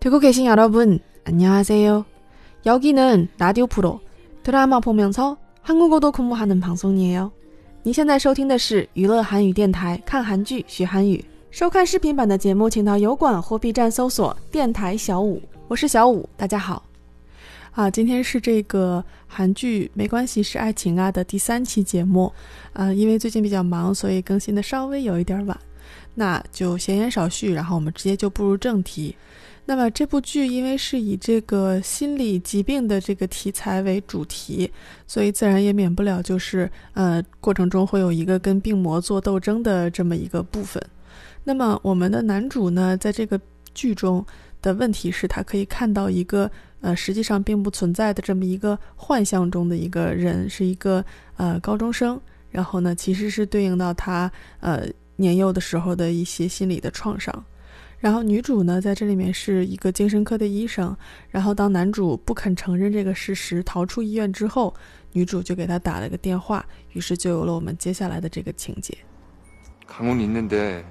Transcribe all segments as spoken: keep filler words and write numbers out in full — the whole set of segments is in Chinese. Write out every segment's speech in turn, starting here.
듣고 계신 여러분, 안녕하세요. 여기는 라디오 프로 드라마 보면서 한국어도 공부하는 방송이에요. 您现在收听的是娱乐韩语电台，看韩剧学韩语。收看视频版的节目，请到油管或 B 站搜索电台小五，我是小五，大家好。啊，今天是这个韩剧没关系是爱情啊的第三期节目，啊，因为最近比较忙，所以更新的稍微有一点晚。那就闲言少叙，然后我们直接就步入正题。那么这部剧因为是以这个心理疾病的这个题材为主题，所以自然也免不了就是呃过程中会有一个跟病魔做斗争的这么一个部分。那么我们的男主呢，在这个剧中的问题是他可以看到一个呃实际上并不存在的这么一个幻象中的一个人，是一个呃高中生，然后呢其实是对应到他呃年幼的时候的一些心理的创伤。然后女主呢在这里面是一个精神科的医生，然后当男主不肯承认这个事实逃出医院之后，女主就给他打了个电话，于是就有了我们接下来的这个情节。 강훈 있는데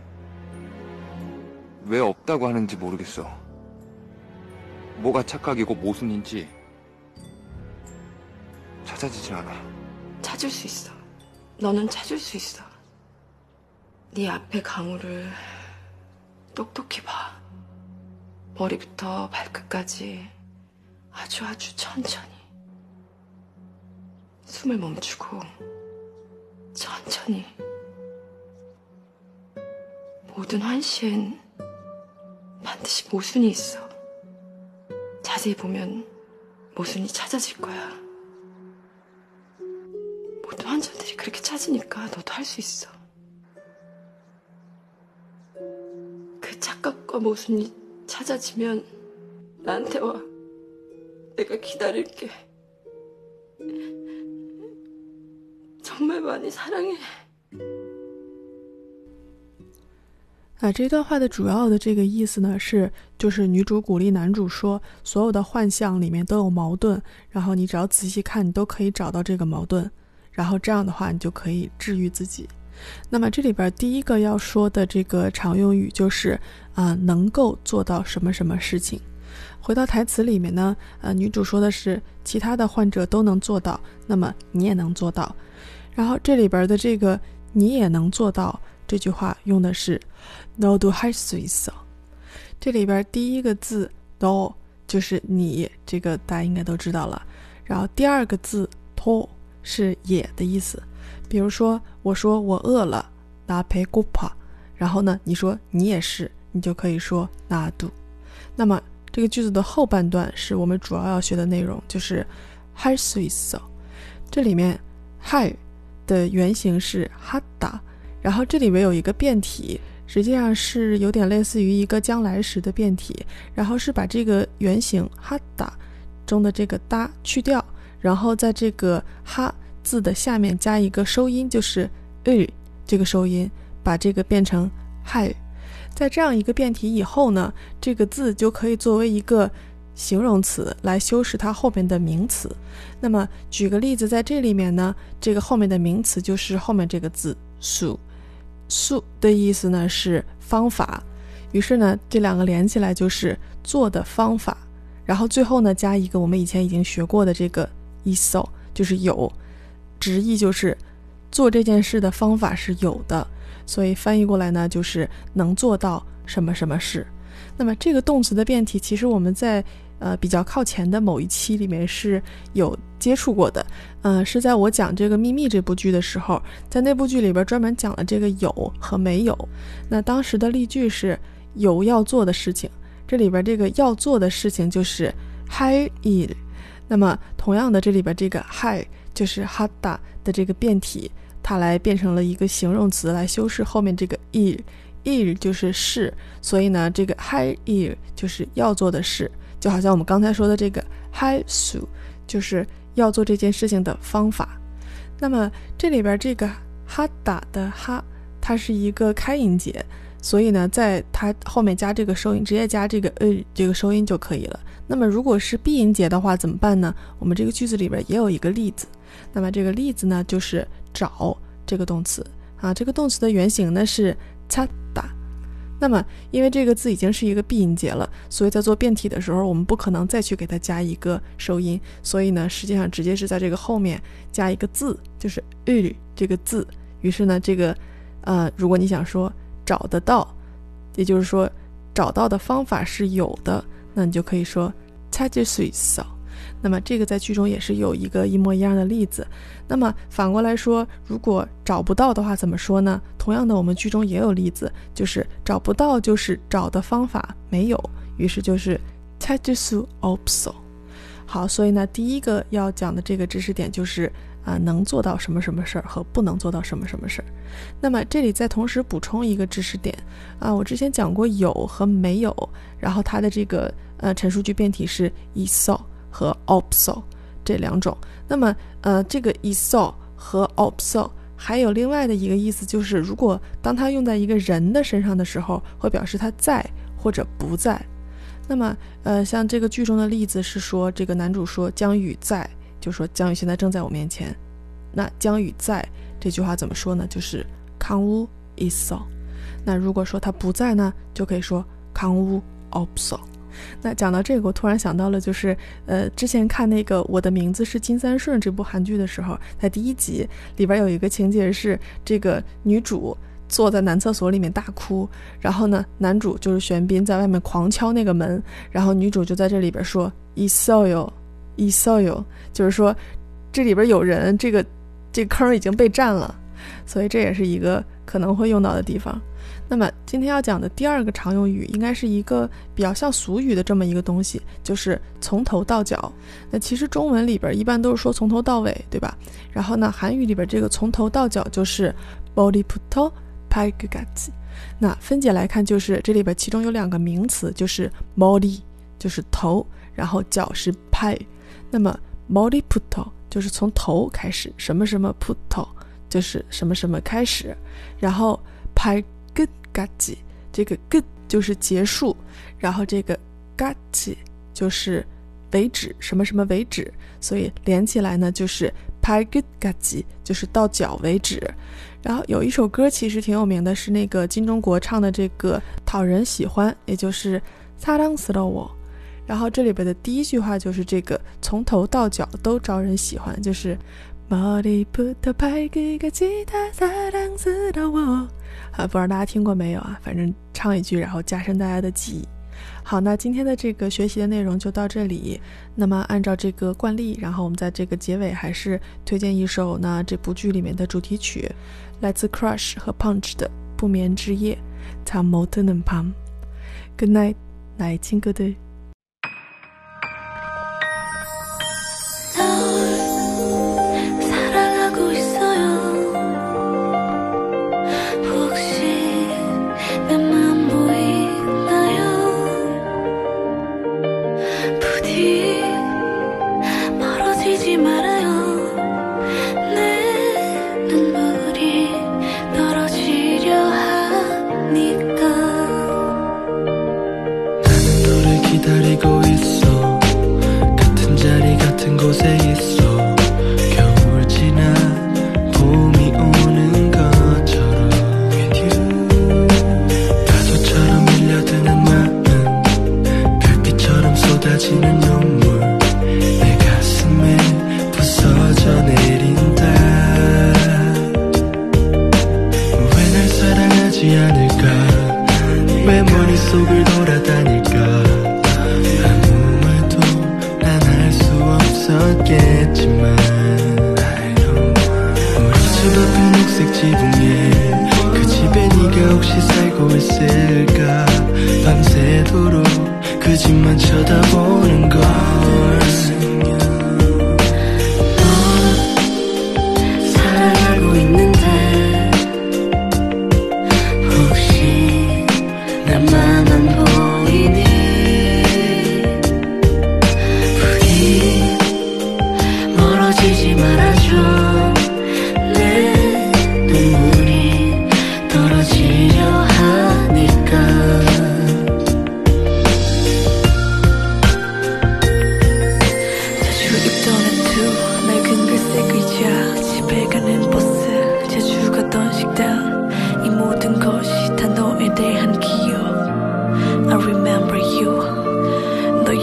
왜 없다고 하는지 모르겠어. 뭐가 착각이고 모순인지 찾아지질 않아. 찾을 수 있어. 너는 찾을 수 있어. 네 앞에 강우를 똑똑히 봐. 머리부터 발끝까지 아주 아주 천천히. 숨을 멈추고 천천히. 모든 환시엔 반드시 모순이 있어. 자세히 보면 모순이 찾아질 거야. 모든 환자들이 그렇게 찾으니까 너도 할 수 있어. 그 착각과 모순이 찾아지면 나한테 와. 내가 기다릴게. 정말 많이 사랑해. 啊，这段话的主要的这个意思呢，是就是女主鼓励男主说，所有的幻象里面都有矛盾，然后你只要仔细看，你都可以找到这个矛盾，然后这样的话，你就可以治愈自己。那么这里边第一个要说的这个常用语就是啊、呃，能够做到什么什么事情。回到台词里面呢，呃，女主说的是其他的患者都能做到，那么你也能做到。然后这里边的这个你也能做到这句话用的是너도 할 수 있어。这里边第一个字너就是你，这个大家应该都知道了。然后第二个字도是也的意思。比如说我说我饿了나 배고파，然后呢你说你也是，你就可以说나도。那么这个句子的后半段是我们主要要学的内容，就是할 수 있어。这里面할的原型是하다，然后这里面有一个变体，实际上是有点类似于一个将来时的变体，然后是把这个原型哈达中的这个哒去掉，然后在这个哈字的下面加一个收音，就是日这个收音，把这个变成嗨。在这样一个变体以后呢，这个字就可以作为一个形容词来修饰它后面的名词。那么举个例子，在这里面呢，这个后面的名词就是后面这个字수。수的意思呢是方法，于是呢这两个连起来就是做的方法，然后最后呢加一个我们以前已经学过的这个있어，就是有，直译就是做这件事的方法是有的，所以翻译过来呢就是能做到什么什么事。那么这个动词的变体其实我们在呃比较靠前的某一期里面是有接触过的，呃是在我讲这个秘密这部剧的时候，在那部剧里边专门讲了这个有和没有。那当时的例句是有要做的事情，这里边这个要做的事情就是할 일。那么同样的，这里边这个할就是하다的这个变体，它来变成了一个形容词来修饰后面这个일。일就是事，所以呢这个할 일就是要做的事，就好像我们刚才说的这个할 수就是要做这件事情的方法。那么这里边这个哈达的哈，它是一个开音节，所以呢在它后面加这个收音，直接加这个呃这个收音就可以了。那么如果是闭音节的话怎么办呢？我们这个句子里边也有一个例子，那么这个例子呢就是找这个动词啊，这个动词的原型呢是찾다， 那么因为这个字已经是一个闭音节了，所以在做变体的时候我们不可能再去给它加一个收音，所以呢实际上直接是在这个后面加一个字，就是日这个字。于是呢这个呃，如果你想说找得到，也就是说找到的方法是有的，那你就可以说찾을 수 있어。那么这个在剧中也是有一个一模一样的例子。那么反过来说，如果找不到的话怎么说呢？同样的我们剧中也有例子，就是找不到就是找的方法没有，于是就是찾을 수 없어。好，所以呢第一个要讲的这个知识点就是啊、呃，能做到什么什么事儿和不能做到什么什么事儿。那么这里再同时补充一个知识点啊，我之前讲过有和没有，然后它的这个呃陈述句变体是있어和없어这两种。那么呃这个있어和없어还有另外的一个意思，就是如果当它用在一个人的身上的时候，会表示他在或者不在。那么呃像这个剧中的例子是说，这个男主说江宇在，就说江宇现在正在我面前。那江宇在这句话怎么说呢？就是강우 있어。那如果说他不在呢，就可以说강우 없어。那讲到这个，我突然想到了，就是呃，之前看那个《我的名字是金三顺》这部韩剧的时候，在第一集里边有一个情节是，这个女主坐在男厕所里面大哭，然后呢，男主就是玄彬在外面狂敲那个门，然后女主就在这里边说있어요 있어요，就是说这里边有人，这个这个坑已经被占了，所以这也是一个可能会用到的地方。那么今天要讲的第二个常用语应该是一个比较像俗语的这么一个东西，就是从头到脚。那其实中文里边一般都是说从头到尾，对吧？然后呢韩语里边这个从头到脚就是 머리부터 발끝까지。那分解来看，就是这里边其中有两个名词，就是 머리就是头，然后脚是팔。那么 머리부터就是从头开始，什么什么부터就是什么什么开始，然后발끝까지这个끝就是结束，然后这个까지就是为止，什么什么为止，所以连起来呢就是 발끝까지就是到脚为止。然后有一首歌其实挺有名的，是那个金钟国唱的这个讨人喜欢，也就是사랑스러워。然后这里边的第一句话就是这个从头到脚都招人喜欢，就是머리부터 발끝까지 다 사랑스러워。啊，不知道大家听过没有啊？反正唱一句，然后加深大家的记忆。好，那今天的这个学习的内容就到这里。那么按照这个惯例，然后我们在这个结尾还是推荐一首呢这部剧里面的主题曲，来自 Crush 和 Punch 的《不眠之夜》。잠 못 드는 밤。 Good night， 나의 친구들。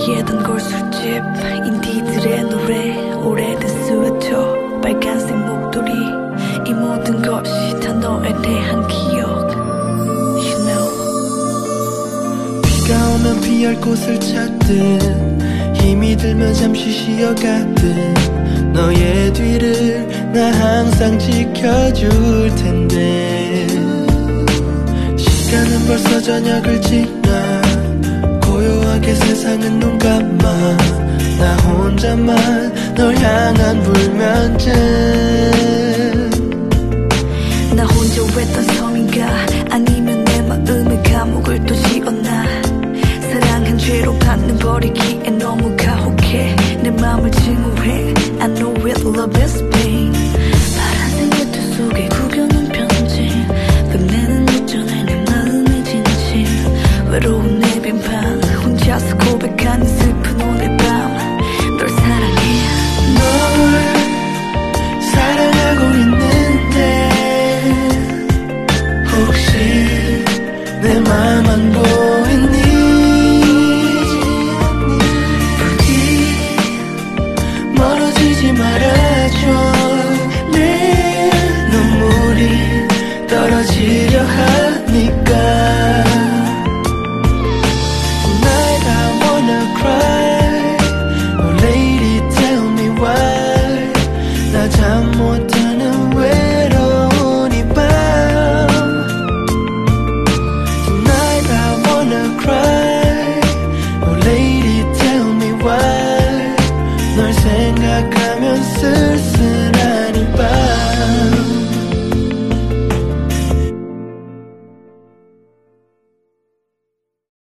예던 골술집 인디들의 노래 오래된 스웨터 빨간색 목도리 이 모든 것이 다 너에 대한 기억 You know 비가 오면 피할 곳을 찾듯 힘이 들면 잠시 쉬어가듯 너의 뒤를 나 항상 지켜줄 텐데 시간은 벌써 저녁을 지나 고요하게 세상은 눈 감아 나 혼자만 널 향한 불면증 나 혼자 외딴 섬인가 아니면 내 마음의 감옥을 또 지었나 사랑한 죄로 받는 버리기에 너무 가혹해 내 맘을 증오해 I know it love is pain 파란색 외투 속에 구겨놓은 편지 끝내는 못 전해 내 마음의 진실 외로운 내 빈방 혼자서 고백하는 슬픈 오늘 밤 널 사랑해 널 사랑하고 있는데 혹시 내 맘 안 보여